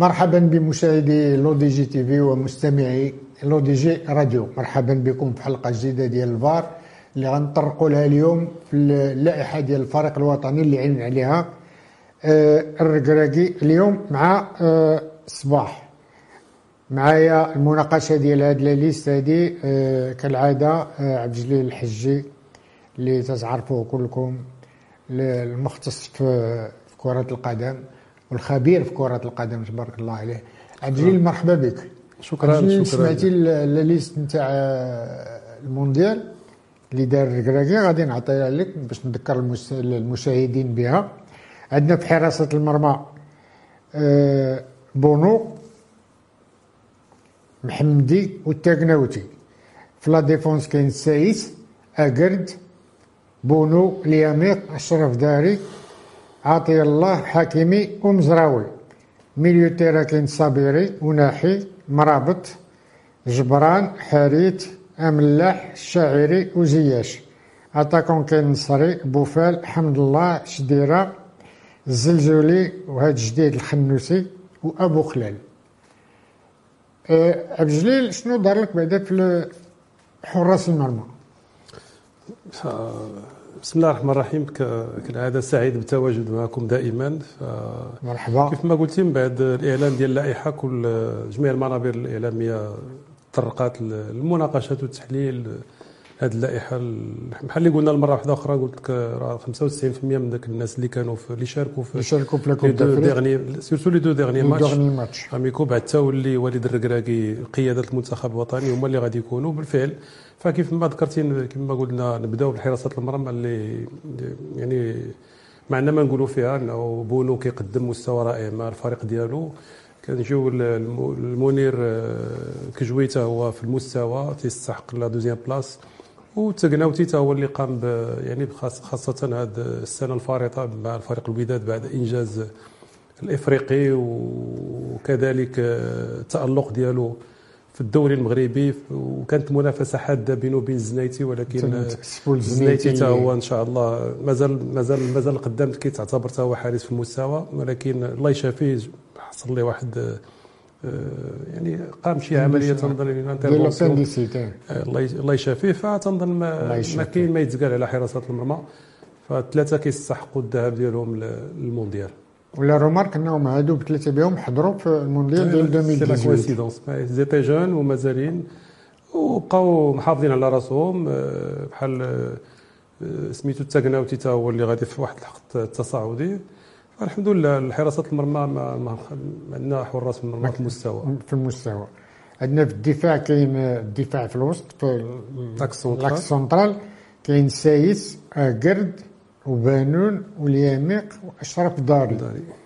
مرحبا بمشاهدي لو دي جي تي في ومستمعي لو دي جي راديو. مرحبا بكم في حلقه جديده ديال الفار اللي غنطرقوا لها اليوم في اللائحه ديال الفريق الوطني اللي علن عليها الركراكي اليوم مع الصباح. معايا المناقشه ديال هاد لا ليست هادي كالعاده عبد الجليل الحجي اللي تتعرفوه كلكم، المختص في كره القدم والخبير في كرة القدم تبارك الله عليه. عبد الجليل مرحبا بك. شكرا. سمعتي الليست نتاع المونديال اللي دار الركراكي، غادي نعطيها لك باش نذكر المشاهدين بها. عندنا في حراسة المرمى بونو، محمدي والتاكناوتي. في لا ديفونس كاين سايس، اكرد، بونو، لياميق، اشرف داري، عطي الله، حكيمي ومزراوي. ميليو تيرا كاين صابيري وناحي، مرابط، جبران، حريت، املاح، الشاعري وزياش. اتاكون كاين نصري، بوفال، حمد الله، شديره، الزلزولي وهاد جديد الخنوسي وابو خلال. عبد الجليل شنو دار لك بعدا في حراس المرمى؟ بسم الله الرحمن الرحيم. كالعاده سعيد بالتواجد معكم دائما. مرحبا. كيف ما قلتي، من بعد الاعلان ديال اللائحه جميع المنابر الاعلاميه تطرقات للمناقشات والتحليل هذه اللائحه. بحال اللي قلنا المره واحده اخرى، قلت لك راه 95% من ذاك الناس اللي كانوا اللي شاركوا في لاكوب دافريك، سورتو لي دو ديرني ماتش اميكو، بعد التولي وليد الركراكي قياده المنتخب الوطني هما اللي غادي يكونوا بالفعل. فكيف ما ذكرتي، كما قلنا نبداو بحراسه المرمى اللي يعني ما عندنا ما نقولوا فيها، انه بونو كيقدم مستوى رائع مع الفريق ديالو. كنجيو المنير كجويته هو في المستوى تيستحق لا دوزيام بلاص، وتاكناوتي تا هو اللي قام يعني خاصه هذه السنه الفارطه مع الفريق الوداد بعد انجاز الافريقي، وكذلك التالق ديالو في الدوري المغربي. وكانت منافسه حاده بينه وبين الزنايتي، ولكن الزنايتي تا هو ان شاء الله مازال قدام، كيتعتبر تا هو حارس في المستوى، ولكن الله يشافيه حصل ليه واحد يعني قام شي عمليه تنظن الله يشافيه. فتنظن ما كاين ما يتقال على حراسه المرمى، فالثلاثه كيستحقوا الذهاب ديالهم للمونديال. ولا رومارك انهم هادو بثلاثه بهم حضروا في المونديال ديال 2018. زيتي جون ومازالين وبقاو محافظين على راسهم، بحال سميتو التاكناوتي تا هو اللي غادي في واحد الحق التصاعدي. الحمد لله الحراسه المرمى ما عندنا حراس في المرمى في المستوى. عندنا في الدفاع كاين الدفاع في الوسط في لاكس سونترال كاين سايس، اكرد وبانون والياميق واشرف داري.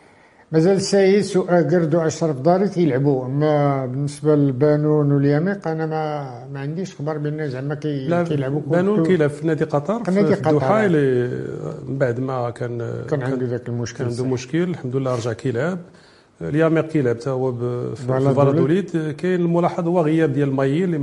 مازال سايس واكرد واشرف داري كيلعبوا، اما بالنسبه لبانون والياميق انا ما عنديش خبر بان زعما كيلعبوا. بانون كيلعب في نادي قطر في الدوحه، من بعد ما كان عنده ذاك المشكل، كان عنده مشكل، الحمد لله رجع كيلعب. الياميق كيلعب حتى هو في فالادوليد. كاين الملاحظ هو غياب ديال مايي اللي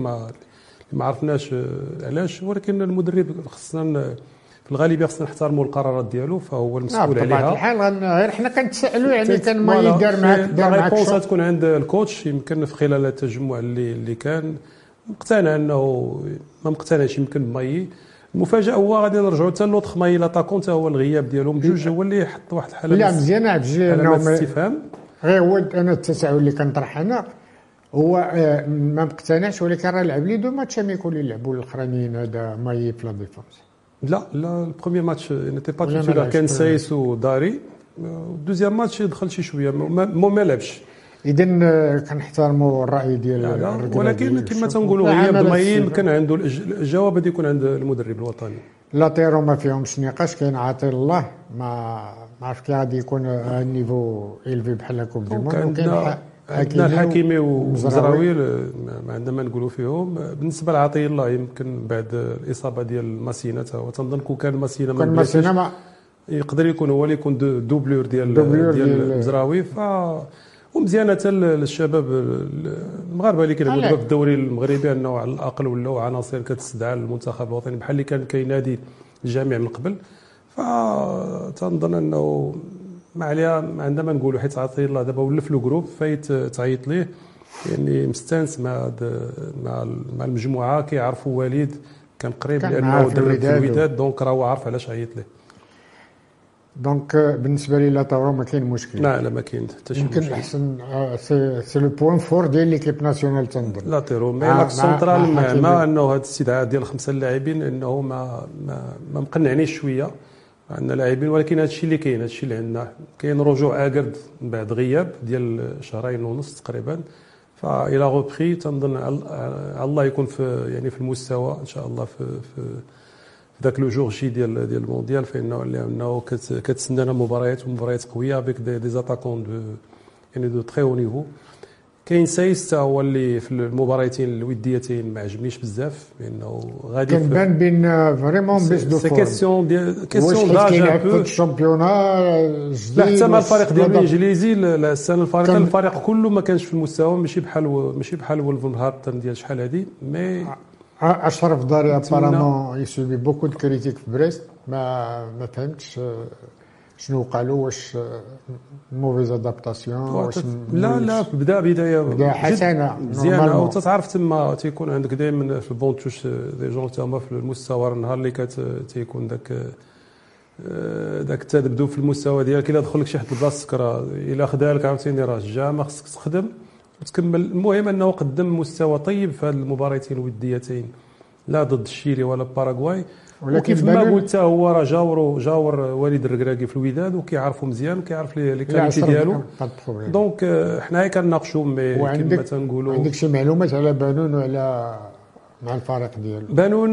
ما عرفناش علاش، ولكن المدرب خصنا في الغالبيه خصنا نحترموا القرارات ديالو، فهو المسؤول عليها. بطبيعه الحال غير حنا كنتسائلوا، يعني كان ما يدار معاك شو تكون عند الكوتش. يمكن في خلال التجمع اللي كان مقتنع انه ما مقتنعش يمكن بمايي. المفاجاه هو غادي نرجعوا حتى لوطخ مايي لاطاكون، حتى هو الغياب ديالهم بجوج هو اللي حط واحد الحاله. لا مزيان عبد الجليل انهم استفهام. غير هو انا التساؤل اللي كنطرح انا هو ما مقتنعش، ولكن راه لعب لي دو ماتش يكون يلعبوا الاخرانيين هذا مايي في لا ديفونس. لا البروميير ماتش نتي با تيتولار، كان سايس وداري. الدوزيام ماتش دخل شي شويه ما لعبش. اذا كنحترموا الراي ديال ولكن كما تنقولوا غياب مايين كان عنده الجواب غادي يكون عند المدرب الوطني. لاتيرو ما فيهمش نقاش، كاين عاطي الله ما عرف كي غادي يكون النيفو إلفي بحال كوب دي موند. عندنا الحكيمي ومزراوي ما عندنا ما نقولوا فيهم. بالنسبه لعطي الله يمكن بعد الاصابه ديال ماسينا، وتنظن كون كان ماسينا يقدر يكون هو اللي يكون دوبلور ديال مزراوي. ومزيانه حتى للشباب المغاربه اللي كيلعبوا دابا في الدوري المغربي، انه على الاقل ولاو عناصر كتستدعى المنتخب الوطني بحال اللي كان كينادي الجميع من قبل. فتنظن انه ما عليها عندما نقولوا حيت عطي الله دابا ولا في لو جروب فايت تعيط ليه، يعني مستانس مع المجموعه، كيعرفوا وليد كان قريب لانه درب في الوداد، دونك راه عارف علاش عيط ليه. دونك بالنسبه لي لا تورو ما كاين مشكل. لا ما كاين حتى شي مشكل. يمكن احسن سي لو بوين فور ديال ليكيب ناسيونال تنظن. لا تيرو مي لاك سونترال مع انه هذا الاستدعاء ديال 5 لاعبين انه ما مقنعنيش شويه. عندنا لاعبين ولكن هذا الشيء اللي كاين، هذا الشيء اللي عندنا كاين رجوع اكرد من بعد غياب ديال شهرين ونص تقريبا، فإلى غوبري تنظن على الله يكون في يعني في المستوى ان شاء الله في ذاك لو جور جي ديال المونديال، فانه كتسنانا مباريات قويه بك دي زاتاكون يعني دو تري او نيفو. كاين سايس هو اللي في المباراتين الوديتين ما عجبنيش بزاف لانه غادي كنبان بين فريمون بيس دو فورم. كيسيون داج ان بو الشامبيونا جديد. لا حتى مع الفريق ديال الانجليزي السنه الفريق كله ما كانش في المستوى، ماشي بحال ولفرهامبتون ديال شحال هذه. مي اشرف داري ابارامون يسوبي بوكو دو كريتيك في بريست، ما فهمتش شنو قالوا، واش موفيز ادابتاسيون لا بدايه حسنه مزيانه. وتتعرف تما تيكون عندك دائما في البون توش دي جون تما في المستوى، النهار اللي تيكون داك تبدو في المستوى ديالك، الا دخل لك شي حد البلاصه سكره الا خدا لك عاوتاني راه جا ما خصك تخدم وتكمل. المهم انه قدم مستوى طيب في هذه المباراتين الوديتين، لا ضد الشيلي ولا باراغواي، ولكن ما قلت هو راه جاور وليد الركراكي في الوداد وكيعرفوا مزيان وكيعرف لي كاليتي ديالو. دونك حنا هي كنناقشوا مي كما تنقولوا. عندك شي معلومات على بانون وعلى مع الفريق ديالو؟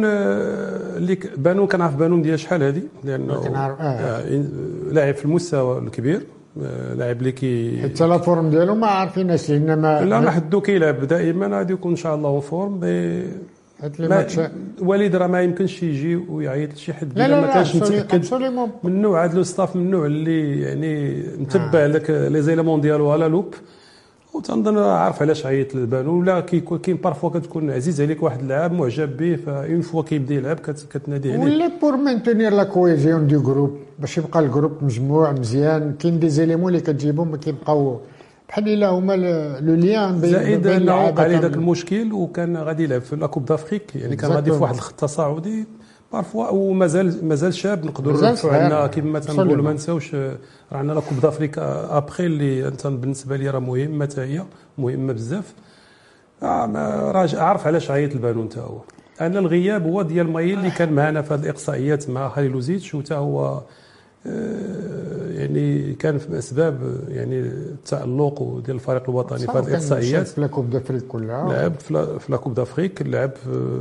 بانون كنعرف بانون ديال شحال هذه، لانه لاعب في المستوى الكبير، لاعب اللي حتى لا فورم ديالو ما عارفيناش، انما لا حدو كيلعب دائما غادي يكون ان شاء الله فورم. وليد راه ما يمكنش يجي ويعيط لشي حد الا ما كانش متاكد من النوع. هذا لو ستاف من النوع اللي يعني متبع لك لي زيليمون ديالو على لوب، وتنظن عارف علاش عيط للبانون. ولا كاين بارفوا كتكون عزيز عليك واحد اللاعب معجب به، فاون فوا كيبدا يلعب كتنادي عليه. ولا بور مانتينير لا كويزيون دو جروب، باش يبقى الجروب مجموع مزيان. كاين دي زيليمون اللي كتجيبهم كيبقاو بحال الا هما لو ليان بين زائد انه على ذاك المشكل، وكان غادي يلعب في لاكوب دافريك، يعني كان غادي في واحد الخط تصاعدي بارفوا، ومازال شاب نقدروا نرفعوا عندنا كما تنقولوا. ما نساوش راه عندنا لاكوب دافريك ابخي اللي انت بالنسبه لي راه مهمه، حتى هي مهمه بزاف. عارف علاش عيط البانون حتى هو. انا الغياب هو ديال مايل اللي كان معنا في هذه الاقصائيات مع خليلوزيتش، وتا هو يعني كان في اسباب يعني التالق ديال الفريق الوطني في هذه الاقصائيات. في لاكوب دافريك كلها لعب في لاكوب دافريك، لعب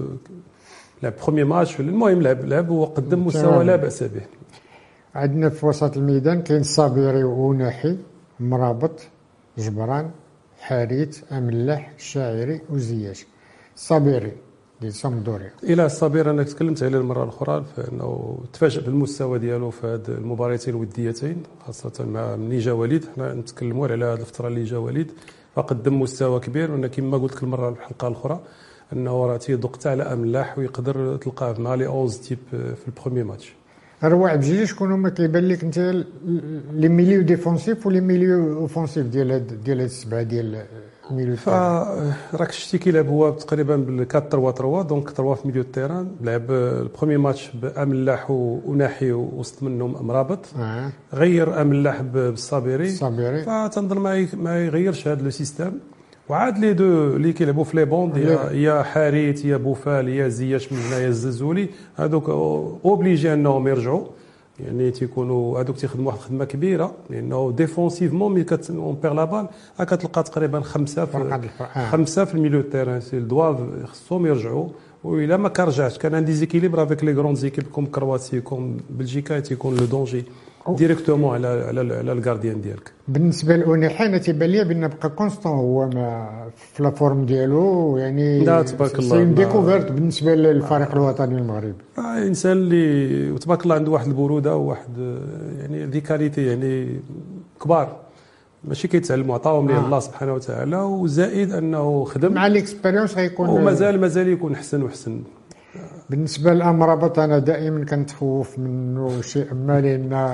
بروميير ماتش. المهم لعب وقدم مستوى لا باس به. عندنا في وسط الميدان كاين صابيري وناحي، مرابط، جبران، حاريت، املاح، الشاعري وزياش. صابيري ديال سامدوريا. الى الصابير انا تكلمت عليه المره الاخرى، فانه تفاجئ بالمستوى ديالو في هذه المباراتين الوديتين، خاصه مع ملي جا وليد. حنا نتكلموا على هذه الفتره اللي جا وليد، فقدم مستوى كبير. وانا كما قلت لك المره الحلقه الاخرى انه راه تيدق حتى على املاح ويقدر تلقاه مع لي 11 تيب في البروميير ماتش. رواع بجوج شكون هما كيبان لك انت لي ميليو ديفونسيف ولي ميليو اوفونسيف ديال هاد السبعه ديال الميليو؟ راك شتي كيلعب هو تقريبا بال 4-3-3، دونك 3 في ميليو تيران. لعب البروميير ماتش باملاح وناحي وسط منهم مرابط. غير املاح بالصابيري، فتنظن ما يغيرش هذا لو سيستيم. وعاد لي دو اللي كيلعبوا في لي بوند، يا حاريت يا بوفال يا زياش من هنايا الزلزولي، هذوك اوبليجي انهم يرجعوا، يعني تيكونوا هذوك تيخدموا واحد الخدمه كبيره، لانه ديفونسيفمون ملي اون بير لا بال كتلقى تقريبا خمسه في الميليو تيران سي الدواف خصهم يرجعوا. وإلا ما كرجعش كان ان ديزيكيليبر افيك لي غروند زيكيب كوم كرواتي كوم بلجيكا، تيكون لو دونجي ديريكتومون على الكارديان ديالك. بالنسبه لأونيحي انا تيبان لي بان بقى كونستون هو ما في لا فورم ديالو، يعني لا تبارك الله سي ديكوفيرت بالنسبه للفريق الوطني المغربي. انسان اللي تبارك الله عنده واحد البروده وواحد يعني ذي كاليتي يعني كبار، ماشي كيتعلموا عطاهم ليه الله سبحانه وتعالى، وزائد انه خدم مع ليكسبيريونس غيكون ومازال يكون احسن وحسن. بالنسبه للامرابط انا دائما كنتخوف منه شيء ما، لان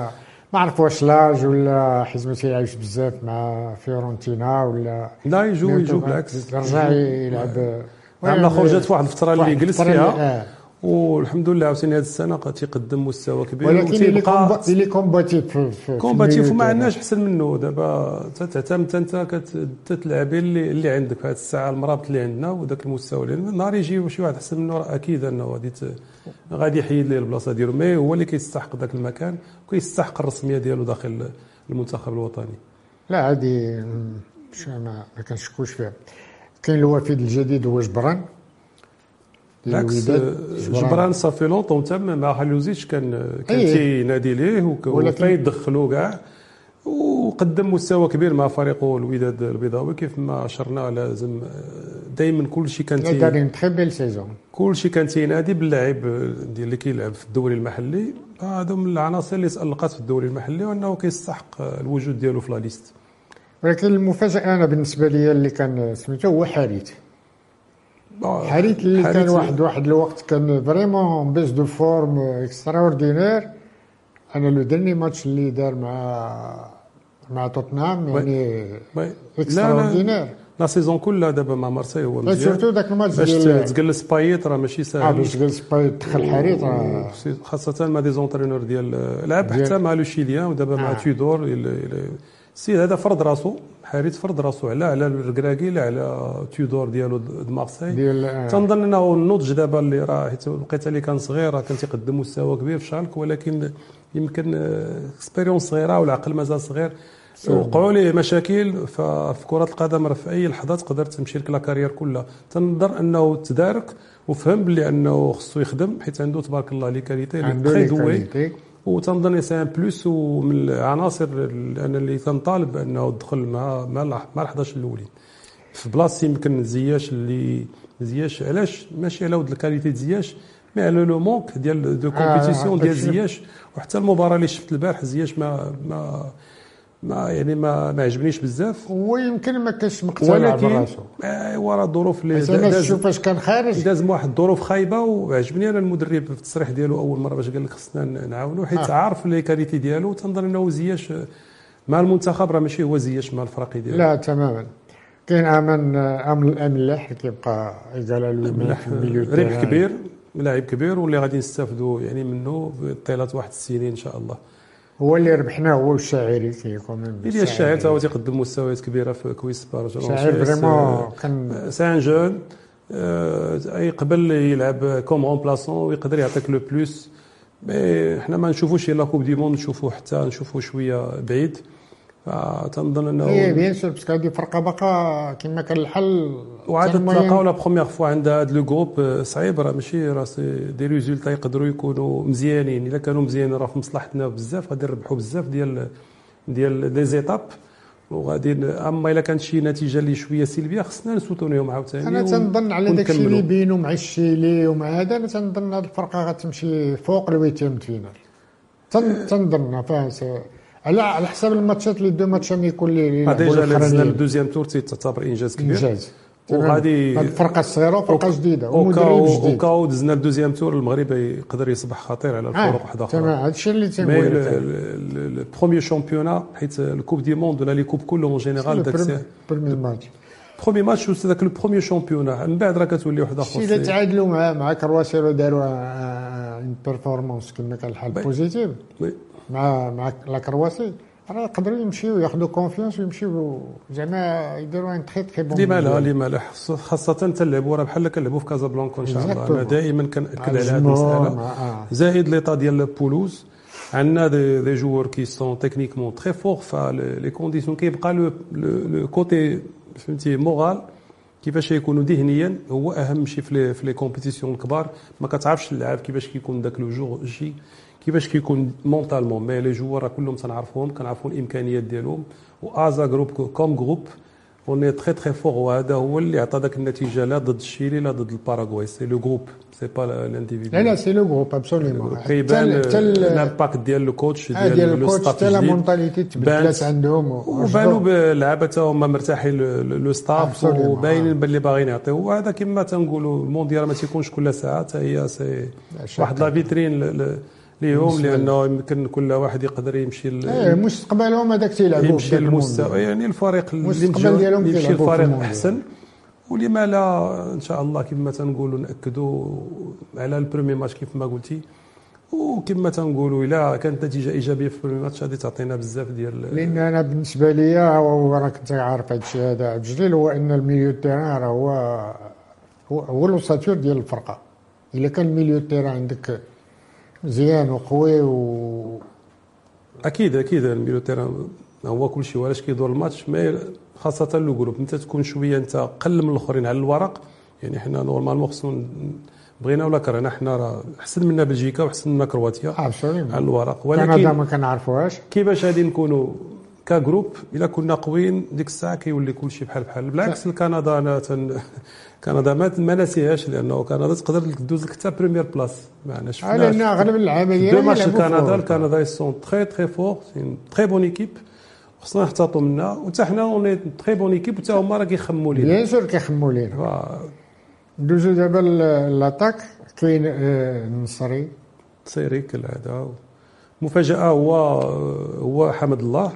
ما عرف واش لاج ولا حيت ما تيلعبش بزاف مع فيورنتينا ولا لا يجو بالعكس رجع يلعب. عمل خرجت في واحد الفتره اللي جلس فيها والحمد لله عاوتاني هذه السنه تيقدم مستوى كبير. ولكن اللي كومباتيف كومباتيف وما عندناش احسن منه. دابا تعتمد انت كتلعبي اللي عندك في هذه الساعه المرابط اللي عندنا وذاك المستوى اللي نهار يجي شي واحد احسن منه اكيد انه غادي يحيد ليه البلاصه ديالو، مي هو اللي كيستحق ذاك المكان وكيستحق الرسميه ديالو داخل المنتخب الوطني. لا هذه ما كنشكوش فيها. كاين الوفد الجديد هو جبران. بالعكس جبران صافي لونطون تم مع حلوزيتش كان تينادي ليه وكان يدخلوا كاع وقدم مستوى كبير مع فريقه الوداد البيضاوي. كيف ما اشرنا لازم دائما كلشي كان دايرين تري بيل سيزون، كلشي كان تينادي باللاعب ديال اللي كيلعب في الدوري المحلي. هذا من العناصر اللي تألقت في الدوري المحلي وانه كيستحق الوجود ديالو في لا ليست. ولكن المفاجاه انا بالنسبه لي اللي كان سميتو هو حريت اللي كان واحد الوقت كان فريمون بيس دو فورم اكسترا اوردينير. انا لو ديرني ماتش اللي دار مع توتنهام يعني اكسترا اوردينير. لا سيزون كلها دابا مع مارسي هو مزيان. سورتو داك الماتش باش تجلس بايت راه ماشي ساهل. باش تجلس بايت دخل حريت خاصه مع دي زونترينور ديال لعب حتى مع لو شيليان ودابا مع تيودور. السيد هذا فرض راسو، حريت فرض راسو على الركراكي لا على تيودور ديالو د مارسي. تنظن انه النضج دابا اللي راه حيت لقيت اللي كان صغير راه كان تيقدم مستوى كبير في شالك، ولكن يمكن اكسبيريونس صغيره والعقل مازال صغير. وقعوا ليه مشاكل في كره القدم، راه في اي لحظه تقدر تمشي لك لا كارير كلها. تنظر انه تدارك وفهم بلي انه خصو يخدم حيت عنده تبارك الله لي كاليتي تري دوي. وتنظن سي ان بلوس ومن العناصر اللي تنطالب بانه يدخل مع 11 الاولين في بلاصه. يمكن زياش علاش ماشي على ود الكاليتي زياش مي على لو مونك ديال دو كومبيتيسيون ديال زياش. وحتى المباراه اللي شفت البارح زياش ما عجبنيش بزاف. ويمكن ما كانش مقتنع براسو ورا الظروف اللي داز فاش كان خارج داز واحد الظروف خايبه. وعجبني انا المدرب في التصريح ديالو اول مره باش قال لك خصنا نعاونوا حيت عارف لي كاليتي ديالو. تنظن انه زياش مع المنتخب راه ماشي هو زياش مع الفريق ديالو. لا تماما. كاين امل الاملاح كيبقى يقال له في الميليو ربح كبير، لاعب كبير واللي غادي نستافدوا يعني منه طيله واحد السنين ان شاء الله. هو اللي ربحناه هو الشاعري كيكون ديال الشاعر تا هو تيقدم مستويات كبيره في كويس بارج. الشاعر فريمون كان سان جون اي قبل يلعب كوم رومبلاسون ويقدر يعطيك لو بلوس. مي حنا ما نشوفوش لا كوب دي موند، نشوفوا شويه بعيد. فتنظن انه بيان سور باسكو هذه فرقه باقا كما كان الحل. وعاد تلاقاو لا بروميير فوا عند هذا لو جروب صعيب. راه ماشي راه دي ريزولتا يقدروا يكونوا مزيانين. الا كانوا مزيانين راه في مصلحتنا بزاف، غادي نربحوا بزاف ديال لي زيتاب وغادي. اما الا كانت شي نتيجه اللي شويه سلبيه خصنا نسوتونيهم عاوتاني. انا تنظن على داك الشيء اللي بينوا مع الشيلي ومع هذا. انا تنظن هذه الفرقه غتمشي فوق الويتيام فينال. تنظن على حساب الماتشات اللي دو ماتش يكون لي ديجا لازمنا الدوزيام تور تعتبر انجاز كبير. وغادي الفرقه الصغيره وفرقه جديده ومدرب جديد. وكاو دزنا الدوزيام تور المغرب يقدر يصبح خطير على الفرق واحده اخرى. تمام هذا الشيء اللي تنقول لك. البروميير شامبيونا حيت الكوب دي موند ولا لي كوب كلهم اون جينيرال داك بروميير ماتش وذاك البروميير شامبيونا من بعد راه كتولي واحد اخر. اذا تعادلوا مع كرواسي وداروا ان بيرفورمانس كما كان الحال بوزيتيف مع لا كرواسي راه يقدروا يمشيو ياخذوا كونفيونس ويمشيو زعما يديروا ان تري تري بون. لما لا خاصه تلعبوا راه بحال كنلعبوا في كازابلانكا ان شاء الله. انا دائما كنأكد على هذه المساله. زائد ليطا ديال بولوز عندنا دي جوور كي سون تكنيكمون تري فور. فلي كونديسيون كيبقى لو كوتي فهمتي مورال كيفاش يكونوا ذهنيا هو اهم شيء في لي كومبيتيسيون الكبار. ما كتعرفش اللعاب كيفاش كيكون داك لو جور جي كيفاش كيكون مونطالمون. مي لي جوار كلهم تنعرفوهم كنعرفوا الامكانيات ديالهم. وازا جروب كوم جروب اون تري تري فور. وهذا هو اللي عطى داك النتيجه لا ضد الشيلي لا ضد الباراغواي. سي لو جروب سي با لانديفيدو. لا سي لو جروب ابسوليومون. كيبان الامباكت ديال لو كوتش ديال لو ستاف حتى لا مونطاليتي تبدلات عندهم وبانوا باللعابه تا هما مرتاحين لو ستاف وباينين باللي باغيين يعطيو. وهذا كما تنقولوا المونديال ما تيكونش كل ساعه. حتى هي سي واحد لا فيترين ليهم، لانه يمكن كل واحد يقدر يمشي مستقبلهم هذاك تيلعبوا يمشي المستوى، يعني الفريق اللي يمشي الفريق احسن. ولما لا ان شاء الله كما تنقولوا ناكدوا على البريمي ماتش كيف ما قلتي، وكما تنقولوا الا كانت نتيجه ايجابيه في البريمي ماتش غادي تعطينا بزاف ديال. لان انا بالنسبه لي وراك انت عارف هذا الشيء هذا عبد الجليل، هو ان الميليو تيران هو الوساطير ديال الفرقه. الا كان الميليو تيران عندك مزيان وقوي اكيد الميليو تيران هو كل شيء، وعلاش كيدور الماتش. مي خاصه لو جروب انت تكون شويه انت قل من الاخرين على الورق. يعني حنا نورمالمون خصنا بغينا ولا كرهنا حنا راه احسن منا بلجيكا واحسن منا كرواتيا على الورق، ولكن كندا ما كنعرفوهاش. كيفاش غادي نكونوا كجروب الا كنا قويين ديك الساعه كيولي كل شيء بحال بالعكس. كندا انا كندا ما ناسيهاش، لانه كندا تقدر دوز لك حتى بريمير بلاص. معنا شفنا لان اغلب العمليات دو ماتش كندا سون تري فور، سي تري بون ايكيب، خصنا نحتاطوا منها. وحتى حنا اوني تري بون ايكيب، وحتى هما راه كيخموا لينا بيان سور كيخموا لينا. ندوزو دابا لاطاك. كاين النصري كالعاده. مفاجاه هو حمد الله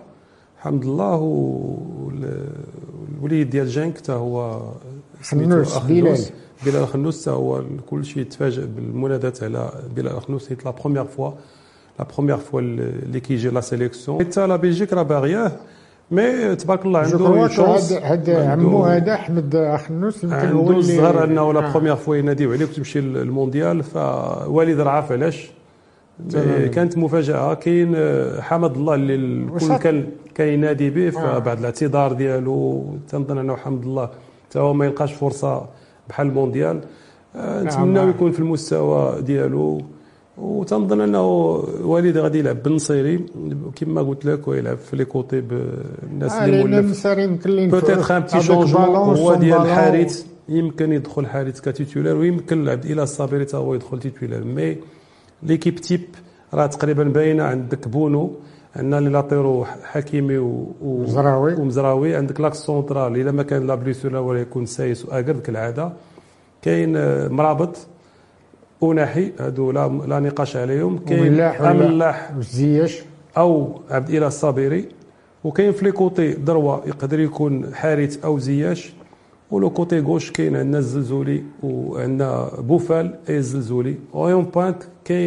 والوليد ديال جانك حتى هو خنوس بلال خنوس. حتى هو كل شيء تفاجئ بالمناداه على بلال خنوس. سيت لا بروميير فوا اللي كيجي لا سيليكسيون. حتى لا بلجيك راه باغياه، مي تبارك الله عنده شونس. هذا عمو هذا احمد خنوس يمكن هو اللي الصغر انه لا بروميير فوا يناديو عليك تمشي للمونديال. فوالد راه عارف علاش. كانت مفاجاه. كاين حمد الله اللي الكل كان كينادي به، فبعد الاعتذار ديالو تنظن انه حمد الله حتى هو ما يلقاش فرصه بحال المونديال. نتمناو يكون في المستوى ديالو، وتنظن انه والد غادي يلعب بالنصيري كما قلت لك، ويلعب في لي كوتي بالناس اللي مولف. بوتيتر ان بتي شونجمون هو ديال الحارث، يمكن يدخل حارث كتيتولار، ويمكن عبد الاله الصابري حتى هو يدخل تيتولار. مي ليكيب تيب راه تقريبا باينه. عندك بونو، عندنا لي لاطيرو حكيمي ومزراوي. عندك لاكس سونترال الا ما كان لا بليسور ولا يكون سايس واقرد كالعاده. كاين مرابط وناحي، هادو لا نقاش عليهم. كاين ملاح زياش او عبد الاله الصابري. وكاين في لي كوتي دروه يقدر يكون حارث او زياش. ولو كوتي غوش كاين عندنا الزلزولي وعندنا بوفال الزلزولي. اون بوينت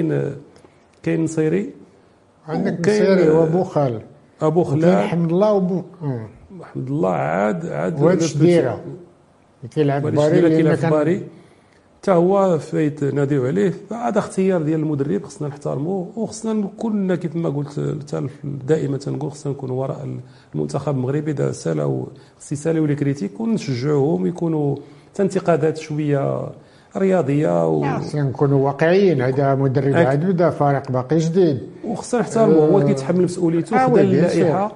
كاين نصيري، عندك نصيري وبوخال ابو خلال. كاين حمد الله حمد الله عاد واش دايره كيلعب باري حتى هو فايت ناديو عليه. فهذا اختيار ديال المدرب خصنا نحترموه، وخصنا كلنا كيف ما قلت دائما تنقول خصنا نكونوا وراء المنتخب المغربي. دا سالاو ساليو لي كريتيك ونشجعوهم يكونوا انتقادات شويه رياضيه خصنا نكونوا واقعيين. هذا مدرب عاد بدا فريق باقي جديد، وخصنا نحترموه. هو كيتحمل مسؤوليته خدا اللائحه.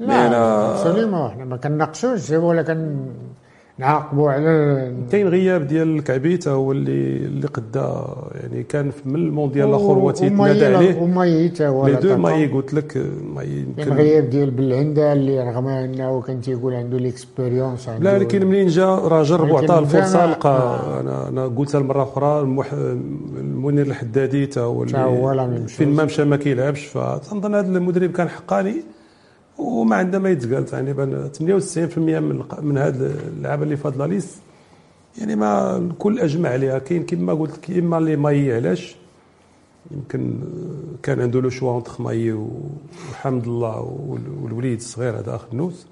لا حنا ما كنناقشوش ولا نعاقبوا على. كاين غياب ديال الكعبي حتى هو اللي قدا، يعني كان من المونديال الاخر هو تيتنادى عليه. وماي حتى هو لي دو ماي قلت لك كاين غياب ديال بالعنده اللي رغم انه كان تيقول عنده ليكسبيريونس. لا لكن منين جا راه جرب وعطاه الفرصه. لقى انا قلتها المره اخرى المنير الحدادي حتى هو فين ما مشى ما كيلعبش. فتنظن هذا المدرب كان حقاني وما عندنا ما يتقال. تقريبا 98% من هاد اللعابه اللي فاضله ليس، يعني ما الكل اجمع عليها. كاين كما قلت لك اما اللي ماي علاش يمكن كان عنده لو شوا اونتر ماي وحمد الله والوليد الصغير هذا خنوس.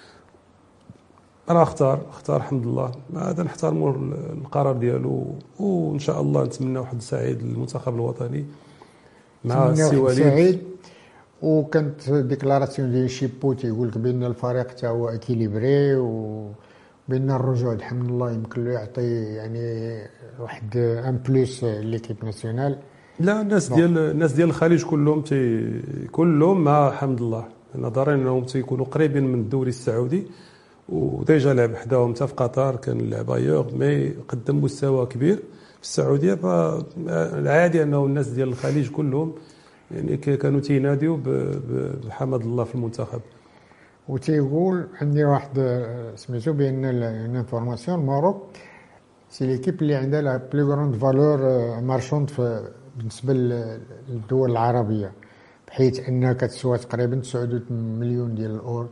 راه اختار حمد الله. هذا نحترموا القرار ديالو، وان شاء الله نتمنى حظ سعيد للمنتخب الوطني مع السي وليد. وكانت ديكلاراسيون ديال شيبو تيقول لك بان الفريق حتى هو اكيليبري، وبان الرجوع الحمد لله يمكن له يعطي يعني واحد ان بلوس ليكيب ناسيونال. لا الناس ديال الخليج كلهم مع حمد الله، نظرا انهم تيكونوا قريبين من الدوري السعودي، وديجا لعب حداهم حتى في قطر كان لعب ايور، مي قدم مستوى كبير في السعوديه. فالعادي انه الناس ديال الخليج كلهم يعني كانوا تيناديو بحمد الله في المنتخب. وتيقول عندي واحد سميتو بان الانفورماسيون الماروك سي ليكيب اللي عندها لا بلو غروند فالور مارشوند في بالنسبه للدول العربيه، بحيث انها كتسوى تقريبا 9 مليون ديال الاورو،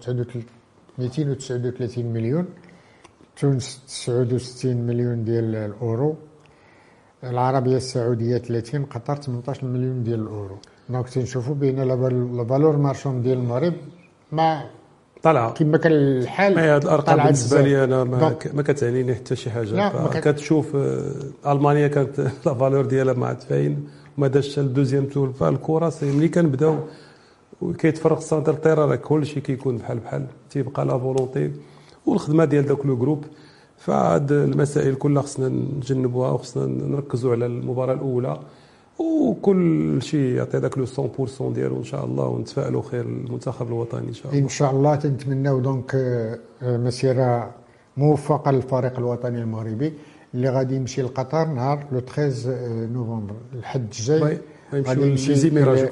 239 مليون. تونس 69 مليون ديال الاورو، العربيه السعوديه 30، قطر 18 مليون ديال الاورو. دونك تنشوفوا بان لا فالور مارشوند ديال المغرب ما طالعه كما كان الحال. هذه الارقام بالنسبه لي انا ما كتعنيني حتى شي حاجه. كتشوف المانيا كانت لا فالور ديالها ما عاد فاين وما داش الدوزيام تور. فالكره ملي كنبداو كيتفرق السنتر طيره، راه كلشي كيكون بحال تيبقى لا فولونتي والخدمه ديال داك لو جروب. فهاد المسائل كلها خصنا نتجنبوها وخصنا نركزوا على المباراه الاولى، وكل شيء يعطي داك لو 100% ديالو ان شاء الله، ونتفائلوا خير المنتخب الوطني ان شاء الله. ان شاء الله تنتمناو دونك مسيره موفقه للفريق الوطني المغربي اللي غادي يمشي لقطر نهار لو 13 نوفمبر الحد الجاي. غادي يمشي لزيميرا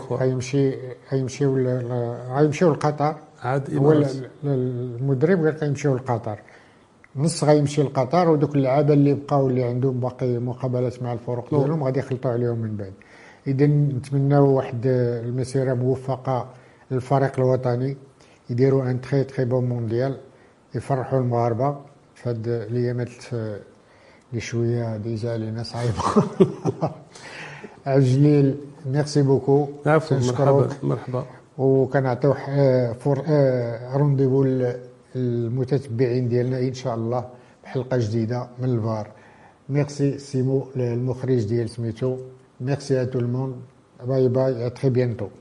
غيمشيو لقطر. هو المدرب قال غيمشيو لقطر، نص غيمشي لقطر، ودوك اللعابه اللي بقاو اللي عندهم باقي مقابلات مع الفرق ديالهم غادي يخلطوا عليهم من بعد. اذا نتمناو واحد المسيره موفقه للفريق الوطني، يديروا ان تري تري بون مونديال، يفرحوا المغاربه في هاد الايامات اللي شويه ديجا علينا صعيبه. عجليل ميرسي بوكو. عفوا، مرحبا. وكنعطيو رونديفو المتتبعين ديالنا ان شاء الله بحلقه جديده من الفار. ميرسي سيمو المخرج ديال سميتو. ميرسي ا تو الموند. باي باي، ا تري بيانتو.